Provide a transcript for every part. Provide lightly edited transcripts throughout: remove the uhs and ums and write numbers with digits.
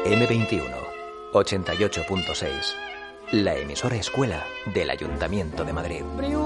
M21 88.6, la emisora escuela del Ayuntamiento de Madrid.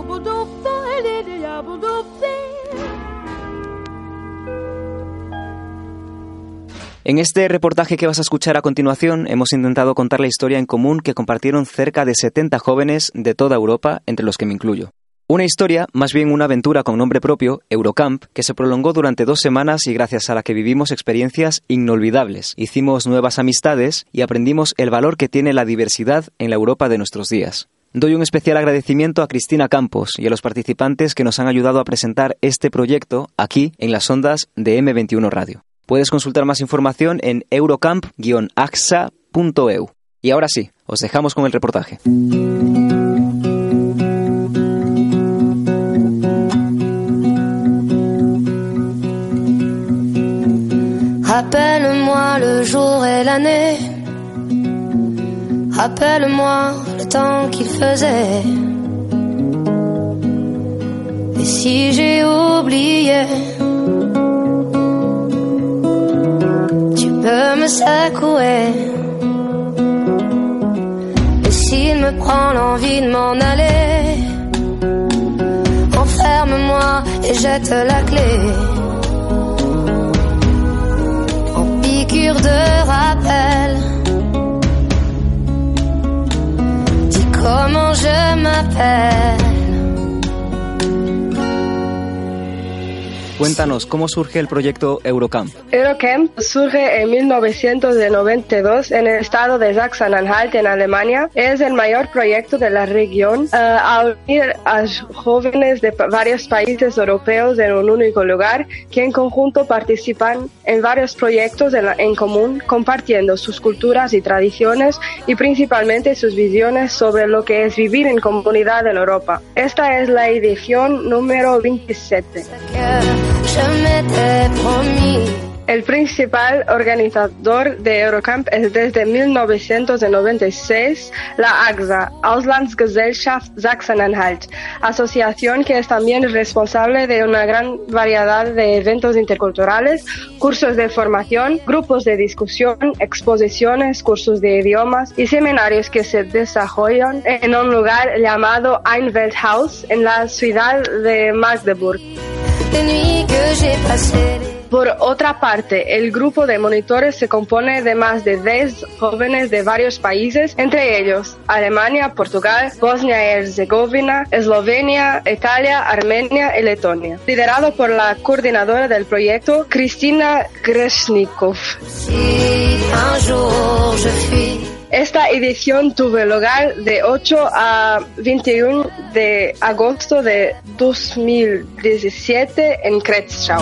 En este reportaje que vas a escuchar a continuación hemos intentado contar la historia en común que compartieron cerca de 70 jóvenes de toda Europa, entre los que me incluyo. Una historia, más bien una aventura con nombre propio, Eurocamp, que se prolongó durante 2 semanas y gracias a la que vivimos experiencias inolvidables. Hicimos nuevas amistades y aprendimos el valor que tiene la diversidad en la Europa de nuestros días. Doy un especial agradecimiento a Cristina Campos y a los participantes que nos han ayudado a presentar este proyecto aquí en las ondas de M21 Radio. Puedes consultar más información en eurocamp-axa.eu. Y ahora sí, os dejamos con el reportaje. Rappelle-moi le jour et l'année, rappelle-moi le temps qu'il faisait. Et si j'ai oublié, tu peux me secouer. Et s'il me prend l'envie de m'en aller, enferme-moi et jette la clé. De rappel, dis comment je m'appelle. Cuéntanos, ¿cómo surge el proyecto Eurocamp? Eurocamp surge en 1992 en el estado de Sachsen-Anhalt, en Alemania. Es el mayor proyecto de la región a unir a jóvenes de varios países europeos en un único lugar, que en conjunto participan en varios proyectos en común, compartiendo sus culturas y tradiciones y principalmente sus visiones sobre lo que es vivir en comunidad en Europa. Esta es la edición número 27. El principal organizador de Eurocamp es desde 1996 la AXA, Auslandsgesellschaft Sachsen-Anhalt, asociación que es también responsable de una gran variedad de eventos interculturales, cursos de formación, grupos de discusión, exposiciones, cursos de idiomas y seminarios que se desarrollan en un lugar llamado Einwelthaus en la ciudad de Magdeburg. Por otra parte, el grupo de monitores se compone de más de 10 jóvenes de varios países, entre ellos Alemania, Portugal, Bosnia y Herzegovina, Eslovenia, Italia, Armenia y Letonia, liderado por la coordinadora del proyecto, Kristina Greshnikov. Esta edición tuvo lugar de 8 a 21 de agosto de 2017 en Kretzschau.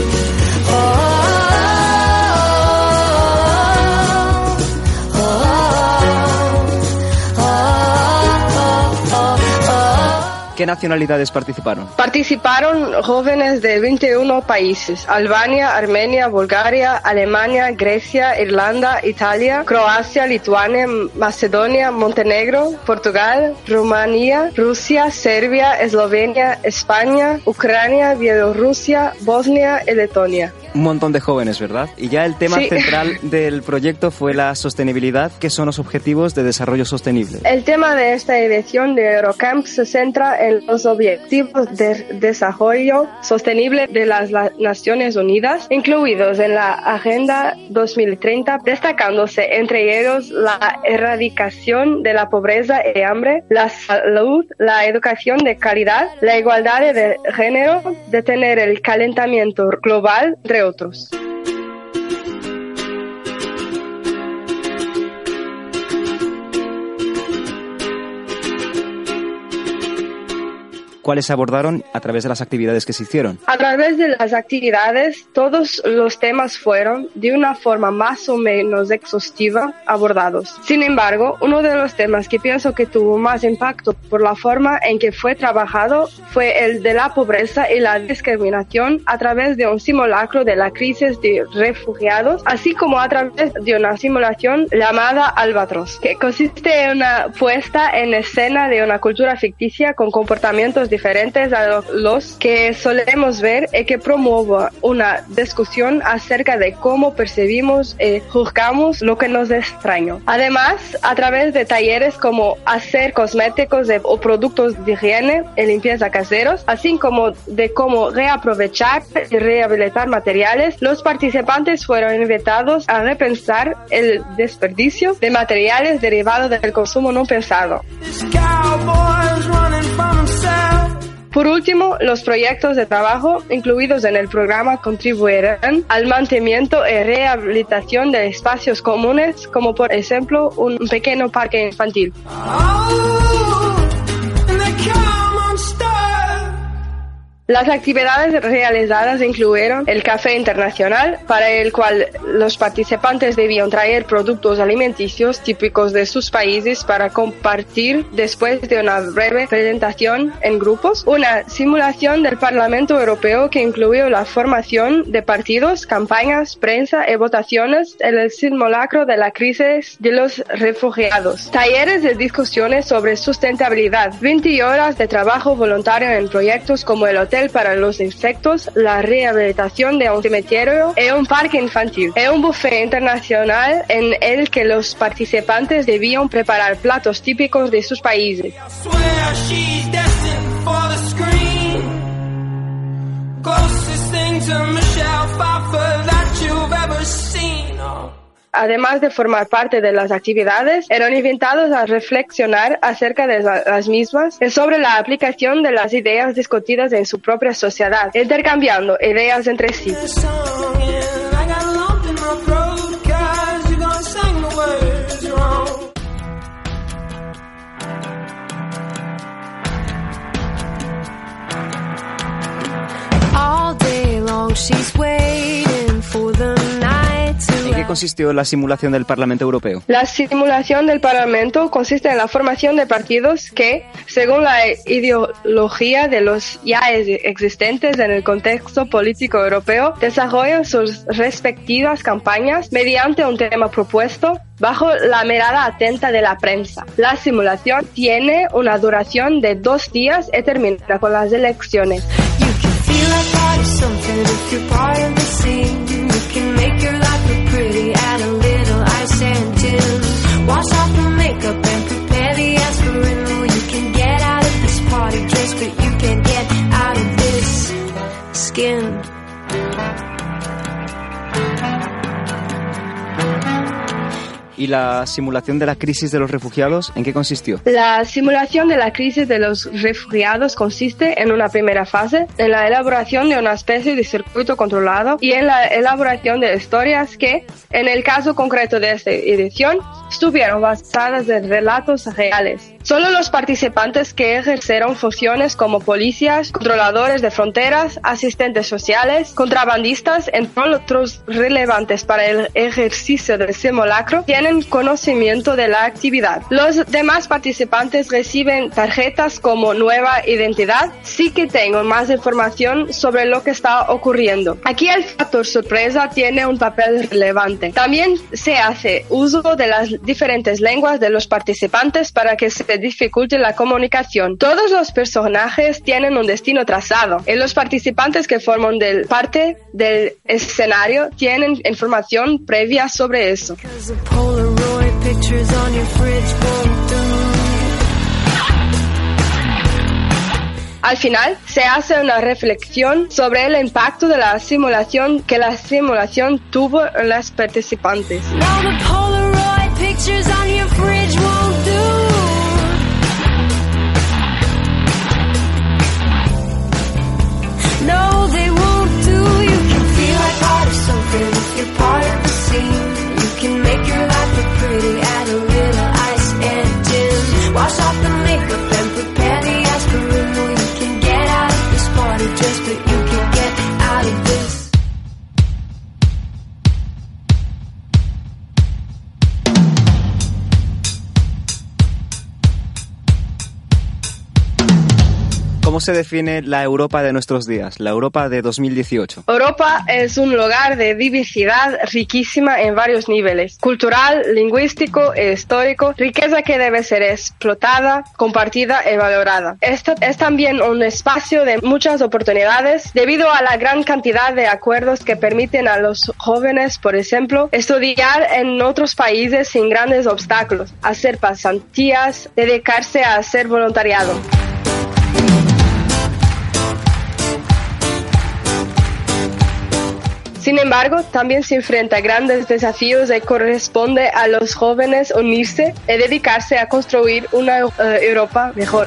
¿Qué nacionalidades participaron? Participaron jóvenes de 21 países: Albania, Armenia, Bulgaria, Alemania, Grecia, Irlanda, Italia, Croacia, Lituania, Macedonia, Montenegro, Portugal, Rumanía, Rusia, Serbia, Eslovenia, España, Ucrania, Bielorrusia, Bosnia y Letonia. Un montón de jóvenes, ¿verdad? Y ya el tema central del proyecto fue la sostenibilidad, que son los objetivos de desarrollo sostenible. El tema de esta edición de Eurocamp se centra en los objetivos de desarrollo sostenible de las Naciones Unidas, incluidos en la Agenda 2030, destacándose entre ellos la erradicación de la pobreza y hambre, la salud, la educación de calidad, la igualdad de género, detener el calentamiento global, entre otros. ¿Cuáles se abordaron a través de las actividades que se hicieron? A través de las actividades, todos los temas fueron, de una forma más o menos exhaustiva, abordados. Sin embargo, uno de los temas que pienso que tuvo más impacto por la forma en que fue trabajado fue el de la pobreza y la discriminación a través de un simulacro de la crisis de refugiados, así como a través de una simulación llamada Albatros, que consiste en una puesta en escena de una cultura ficticia con comportamientos diferentes a los que solemos ver y que promueva una discusión acerca de cómo percibimos y juzgamos lo que nos es extraño. Además, a través de talleres como hacer cosméticos o productos de higiene y limpieza caseros, así como de cómo reaprovechar y rehabilitar materiales, los participantes fueron invitados a repensar el desperdicio de materiales derivados del consumo no pensado. Por último, los proyectos de trabajo incluidos en el programa contribuirán al mantenimiento y rehabilitación de espacios comunes, como por ejemplo un pequeño parque infantil. Las actividades realizadas incluyeron el café internacional, para el cual los participantes debían traer productos alimenticios típicos de sus países para compartir después de una breve presentación en grupos. Una simulación del Parlamento Europeo que incluyó la formación de partidos, campañas, prensa y votaciones en el simulacro de la crisis de los refugiados. Talleres de discusiones sobre sustentabilidad. 20 horas de trabajo voluntario en proyectos como el hotel para los insectos, la rehabilitación de un cementerio y un parque infantil. Y un buffet internacional en el que los participantes debían preparar platos típicos de sus países. Además de formar parte de las actividades, eran invitados a reflexionar acerca de las mismas y sobre la aplicación de las ideas discutidas en su propia sociedad, intercambiando ideas entre sí. All day long she's waiting for the night to ¿En qué consistió la simulación del Parlamento Europeo? La simulación del Parlamento consiste en la formación de partidos que, según la ideología de los ya existentes en el contexto político europeo, desarrollan sus respectivas campañas mediante un tema propuesto bajo la mirada atenta de la prensa. La simulación tiene una duración de 2 días y termina con las elecciones. ¿Y la simulación de la crisis de los refugiados en qué consistió? La simulación de la crisis de los refugiados consiste en una primera fase, en la elaboración de una especie de circuito controlado y en la elaboración de historias que, en el caso concreto de esta edición, estuvieron basadas en relatos reales. Solo los participantes que ejercieron funciones como policías, controladores de fronteras, asistentes sociales, contrabandistas, entre otros relevantes para el ejercicio del simulacro, tienen conocimiento de la actividad. Los demás participantes reciben tarjetas como nueva identidad, sí que tengo más información sobre lo que está ocurriendo. Aquí el factor sorpresa tiene un papel relevante. También se hace uso de las diferentes lenguas de los participantes para que se dificulte la comunicación. Todos los personajes tienen un destino trazado y los participantes que forman parte del escenario tienen información previa sobre eso. Al final, se hace una reflexión sobre el impacto de la simulación que la simulación tuvo en los participantes. ¿Cómo se define la Europa de nuestros días, la Europa de 2018? Europa es un lugar de diversidad riquísima en varios niveles: cultural, lingüístico e histórico, riqueza que debe ser explotada, compartida y valorada. Este es también un espacio de muchas oportunidades debido a la gran cantidad de acuerdos que permiten a los jóvenes, por ejemplo, estudiar en otros países sin grandes obstáculos, hacer pasantías, dedicarse a hacer voluntariado. Sin embargo, también se enfrenta a grandes desafíos y corresponde a los jóvenes unirse y dedicarse a construir una Europa mejor.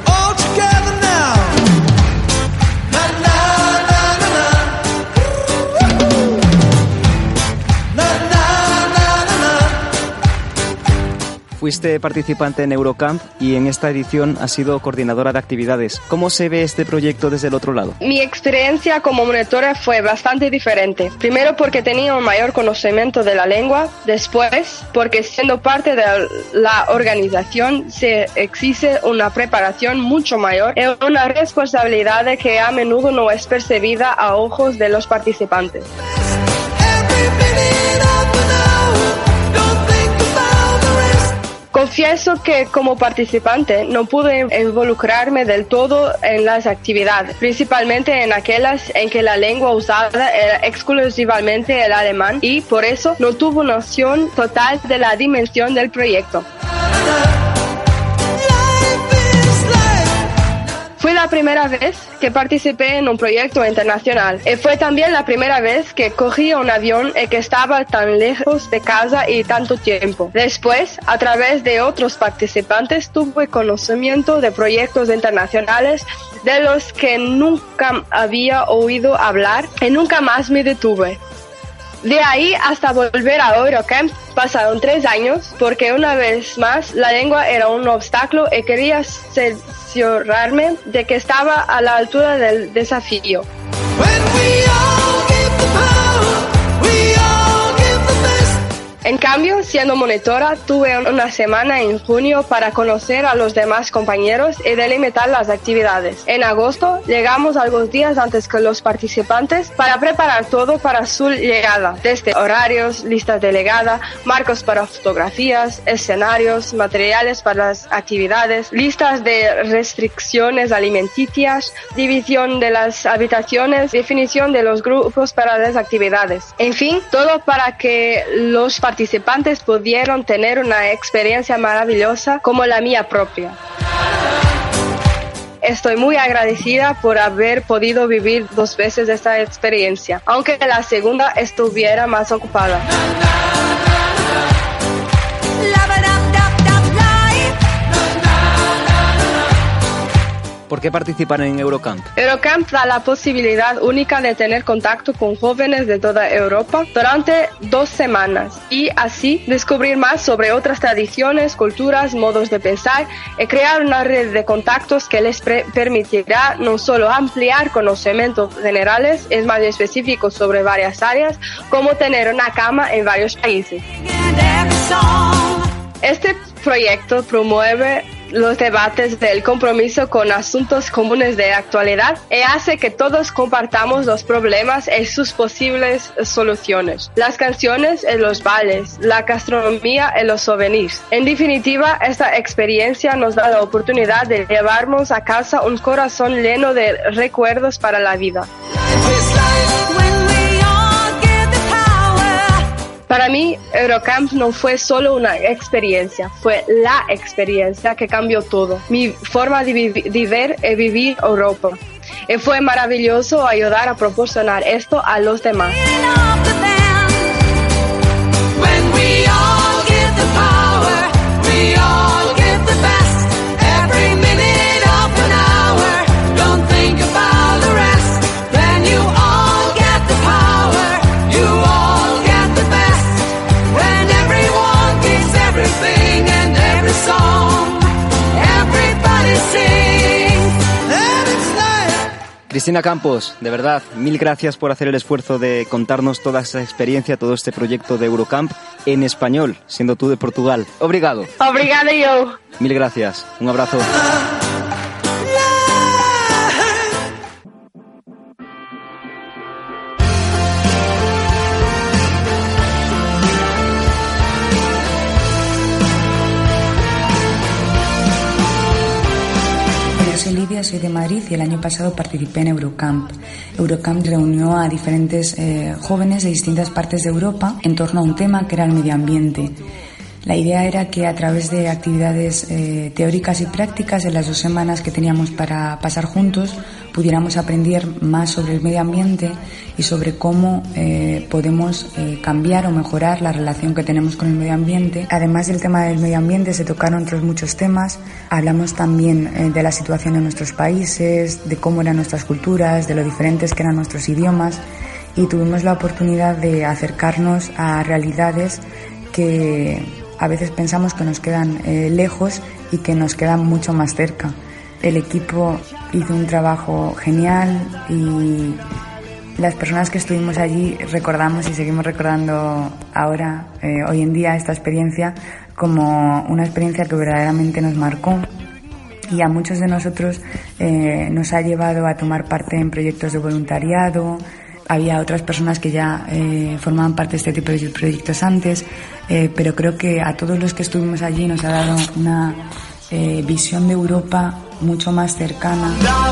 Fuiste participante en Eurocamp y en esta edición has sido coordinadora de actividades. ¿Cómo se ve este proyecto desde el otro lado? Mi experiencia como monitora fue bastante diferente. Primero porque tenía un mayor conocimiento de la lengua, después porque siendo parte de la organización se exige una preparación mucho mayor y una responsabilidad que a menudo no es percibida a ojos de los participantes. Confieso que como participante no pude involucrarme del todo en las actividades, principalmente en aquellas en que la lengua usada era exclusivamente el alemán y por eso no tuve noción total de la dimensión del proyecto. Fue la primera vez que participé en un proyecto internacional y fue también la primera vez que cogí un avión y que estaba tan lejos de casa y tanto tiempo. Después, a través de otros participantes, tuve conocimiento de proyectos internacionales de los que nunca había oído hablar y nunca más me detuve. De ahí hasta volver a Eurocamp pasaron 3 años porque una vez más la lengua era un obstáculo y quería cerciorarme de que estaba a la altura del desafío. En cambio, siendo monitora, tuve una semana en junio para conocer a los demás compañeros y delimitar las actividades. En agosto, llegamos algunos días antes que los participantes para preparar todo para su llegada, desde horarios, listas de llegada, marcos para fotografías, escenarios, materiales para las actividades, listas de restricciones alimenticias, división de las habitaciones, definición de los grupos para las actividades. En fin, todo para que los participantes pudieron tener una experiencia maravillosa como la mía propia. Estoy muy agradecida por haber podido vivir 2 veces esta experiencia, aunque la segunda estuviera más ocupada. ¿Por qué participar en Eurocamp? Eurocamp da la posibilidad única de tener contacto con jóvenes de toda Europa durante 2 semanas y así descubrir más sobre otras tradiciones, culturas, modos de pensar y crear una red de contactos que les permitirá no solo ampliar conocimientos generales y más específicos sobre varias áreas, como tener una cama en varios países. Este proyecto promueve los debates del compromiso con asuntos comunes de actualidad y hace que todos compartamos los problemas y sus posibles soluciones. Las canciones y los bailes, la gastronomía y los souvenirs. En definitiva, esta experiencia nos da la oportunidad de llevarnos a casa un corazón lleno de recuerdos para la vida. Para mí, Eurocamp no fue solo una experiencia, fue la experiencia que cambió todo. Mi forma de ver y vivir Europa. Y fue maravilloso ayudar a proporcionar esto a los demás. Cristina Campos, de verdad, 1000 gracias por hacer el esfuerzo de contarnos toda esta experiencia, todo este proyecto de Eurocamp en español, siendo tú de Portugal. Obrigado. Obrigada yo. 1000 gracias. Un abrazo. soy de Madrid y el año pasado participé en Eurocamp. Eurocamp reunió a diferentes jóvenes de distintas partes de Europa en torno a un tema que era el medio ambiente. La idea era que a través de actividades teóricas y prácticas en las 2 semanas que teníamos para pasar juntos pudiéramos aprender más sobre el medio ambiente y sobre cómo podemos cambiar o mejorar la relación que tenemos con el medio ambiente. Además del tema del medio ambiente se tocaron otros muchos temas. Hablamos también de la situación en nuestros países, de cómo eran nuestras culturas, de lo diferentes que eran nuestros idiomas y tuvimos la oportunidad de acercarnos a realidades que a veces pensamos que nos quedan lejos y que nos quedan mucho más cerca. El equipo hizo un trabajo genial y las personas que estuvimos allí recordamos y seguimos recordando ahora, hoy en día, esta experiencia como una experiencia que verdaderamente nos marcó y a muchos de nosotros nos ha llevado a tomar parte en proyectos de voluntariado. Había otras personas que ya formaban parte de este tipo de proyectos antes, pero creo que a todos los que estuvimos allí nos ha dado una visión de Europa mucho más cercana.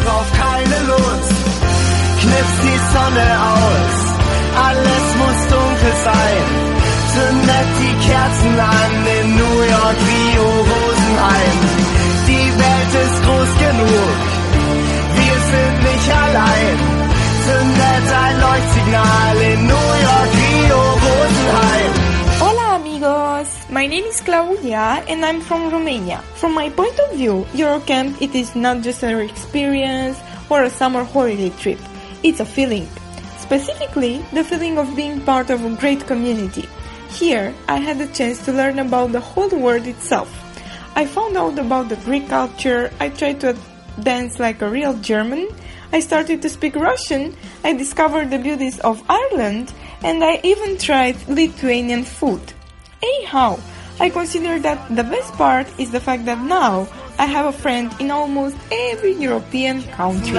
Hola amigos, my name is Claudia and I'm from Romania. From my point of view, Eurocamp it is not just an experience or a summer holiday trip. It's a feeling. Specifically, the feeling of being part of a great community. Here, I had the chance to learn about the whole world itself. I found out about the Greek culture, I tried to dance like a real German, I started to speak Russian, I discovered the beauties of Ireland, and I even tried Lithuanian food. Anyhow, I consider that the best part is the fact that now I have a friend in almost every European country.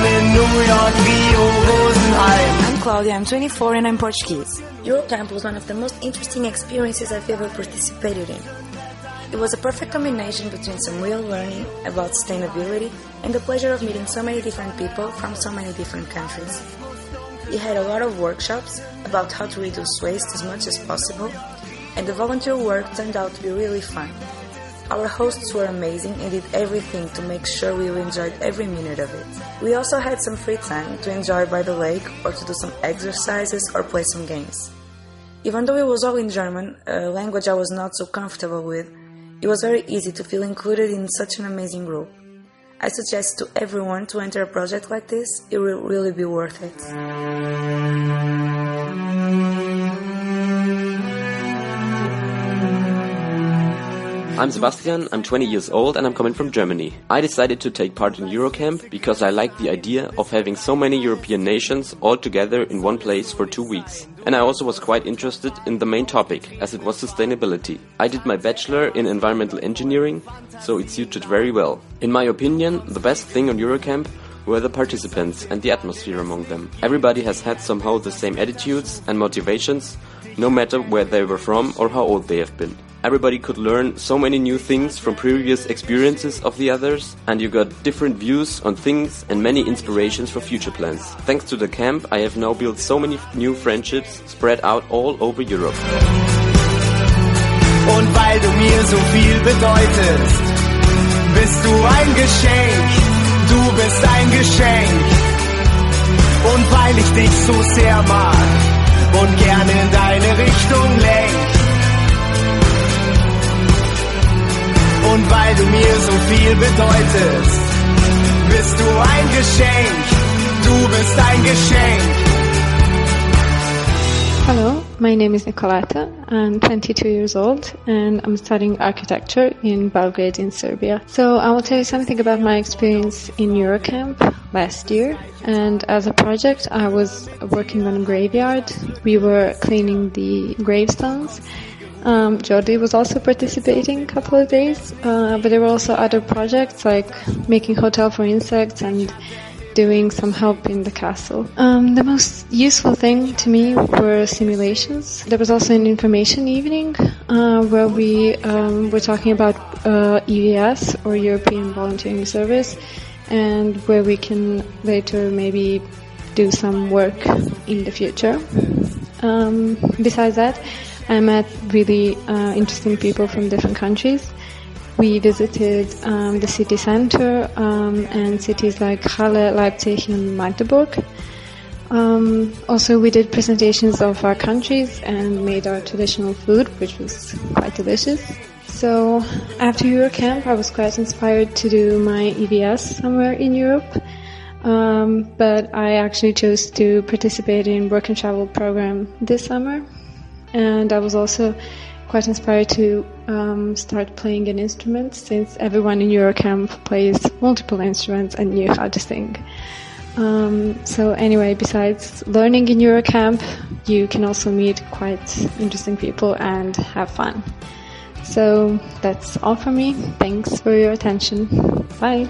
I'm Claudia, I'm 24 and I'm Portuguese. Eurocamp was one of the most interesting experiences I've ever participated in. It was a perfect combination between some real learning about sustainability and the pleasure of meeting so many different people from so many different countries. We had a lot of workshops about how to reduce waste as much as possible, and the volunteer work turned out to be really fun. Our hosts were amazing and did everything to make sure we enjoyed every minute of it. We also had some free time to enjoy by the lake or to do some exercises or play some games. Even though it was all in German, a language I was not so comfortable with, it was very easy to feel included in such an amazing group. I suggest to everyone to enter a project like this. It will really be worth it. I'm Sebastian, I'm 20 years old and I'm coming from Germany. I decided to take part in Eurocamp because I like the idea of having so many European nations all together in one place for 2 weeks. And I also was quite interested in the main topic, as it was sustainability. I did my bachelor in environmental engineering, so it suited very well. In my opinion, the best thing on Eurocamp were the participants and the atmosphere among them. Everybody has had somehow the same attitudes and motivations, no matter where they were from or how old they have been. Everybody could learn so many new things from previous experiences of the others, and you got different views on things and many inspirations for future plans. Thanks to the camp, I have now built so many new friendships spread out all over Europe. Und weil du mir so viel bedeutest, bist du ein Geschenk, du bist ein Geschenk. Und weil ich dich so sehr mag und gerne in deine Richtung lenk. Und weil du mir so viel bedeutest, bist du ein Geschenk, du bist ein Geschenk. Hello, my name is Nicoleta. I'm 22 years old and I'm studying architecture in Belgrade in Serbia. So I will tell you something about my experience in Eurocamp last year. And as a project, I was working on a graveyard. We were cleaning the gravestones. Jordi was also participating a couple of days, but there were also other projects like making hotel for insects and doing some help in the castle. The most useful thing to me were simulations. There was also an information evening where we were talking about EVS or European Volunteering Service, and where we can later maybe do some work in the future. Besides that, I met really interesting people from different countries. We visited the city center and cities like Halle, Leipzig and Magdeburg. Also, we did presentations of our countries and made our traditional food, which was quite delicious. So after Eurocamp, I was quite inspired to do my EVS somewhere in Europe. But I actually chose to participate in work and travel program this summer. And I was also quite inspired to start playing an instrument, since everyone in Eurocamp plays multiple instruments and knew how to sing. So anyway, besides learning in Eurocamp, you can also meet quite interesting people and have fun. So that's all from me. Thanks for your attention. Bye.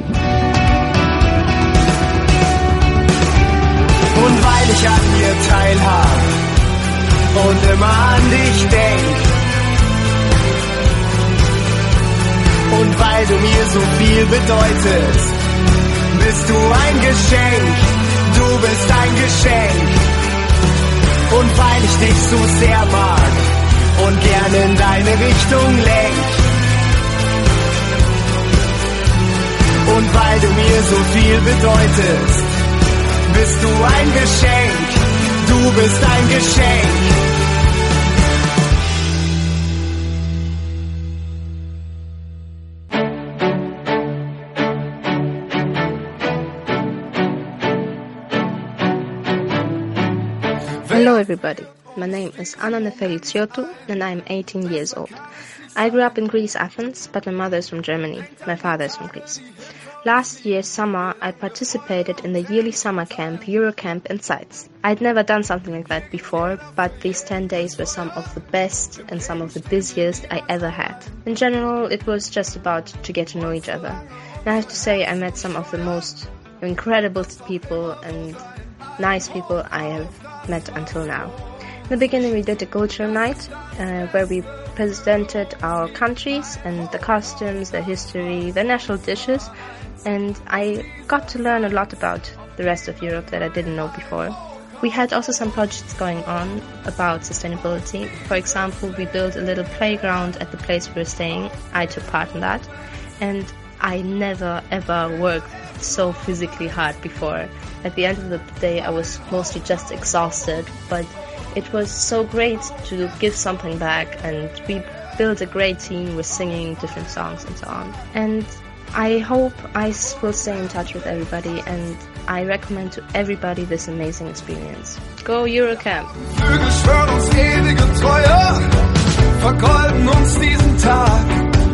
Und weil ich an dir teilhab und immer an dich denk, und weil du mir so viel bedeutest, bist du ein Geschenk, du bist ein Geschenk. Und weil ich dich so sehr mag und gern in deine Richtung lenk, und weil du mir so viel bedeutest, bist du ein Geschenk, du bist ein Geschenk. Hello everybody, my name is Anna Nefeliciotou and I'm 18 years old. I grew up in Greece, Athens, but my mother is from Germany, my father is from Greece. Last year summer, I participated in the yearly summer camp, Eurocamp in Zeitz. I'd never done something like that before, but these 10 days were some of the best and some of the busiest I ever had. In general, it was just about to get to know each other. And I have to say, I met some of the most incredible people and nice people I have met until now. In the beginning, we did a culture night, where we presented our countries and the costumes, the history, the national dishes, and I got to learn a lot about the rest of Europe that I didn't know before. We had also some projects going on about sustainability. For example, we built a little playground at the place we were staying. I took part in that, and I never ever worked so physically hard before. At the end of the day, I was mostly just exhausted, but it was so great to give something back, and we built a great team with singing different songs and so on. And I hope I will stay in touch with everybody, and I recommend to everybody this amazing experience. Go Eurocamp! Vögel schwören uns ewige Treue, vergolden uns diesen Tag.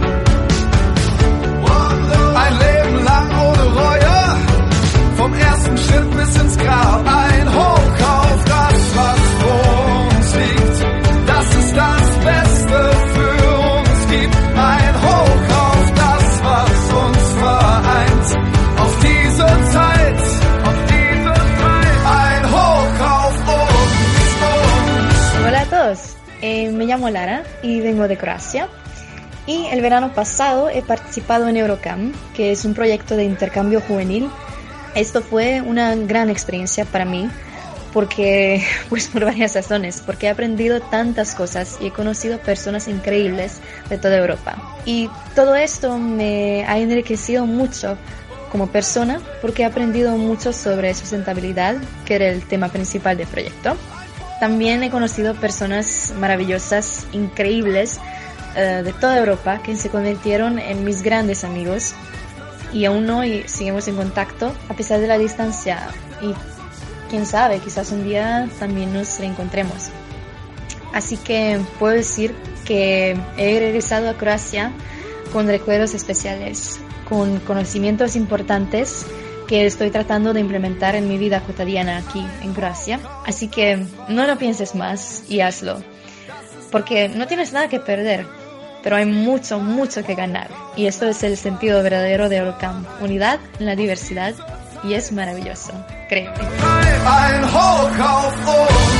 Ein Leben lang ohne Reue, vom ersten Schritt bis ins Grab. Ein Hoch auf das, was vor uns liegt. Das ist das Beste für uns gibt. Ein Hoch auf das, was uns vereint. Auf diese Zeit, ein Hoch auf uns. Hola a todos, me llamo Lara y vengo de Croacia. Y el verano pasado he participado en Eurocamp, que es un proyecto de intercambio juvenil. Esto fue una gran experiencia para mí, porque, pues por varias razones, porque he aprendido tantas cosas y he conocido personas increíbles de toda Europa. Y todo esto me ha enriquecido mucho como persona, porque he aprendido mucho sobre sustentabilidad, que era el tema principal del proyecto. También he conocido personas maravillosas, increíbles, de toda Europa, que se convirtieron en mis grandes amigos y aún hoy seguimos en contacto a pesar de la distancia, y quién sabe, quizás un día también nos reencontremos. Así que puedo decir que he regresado a Croacia con recuerdos especiales, con conocimientos importantes que estoy tratando de implementar en mi vida cotidiana aquí en Croacia. Así que no lo pienses más y hazlo, porque no tienes nada que perder, pero hay mucho, mucho que ganar. Y esto es el sentido verdadero de Eurocamp: unidad en la diversidad, y es maravilloso, créeme. Ein Hoch auf uns.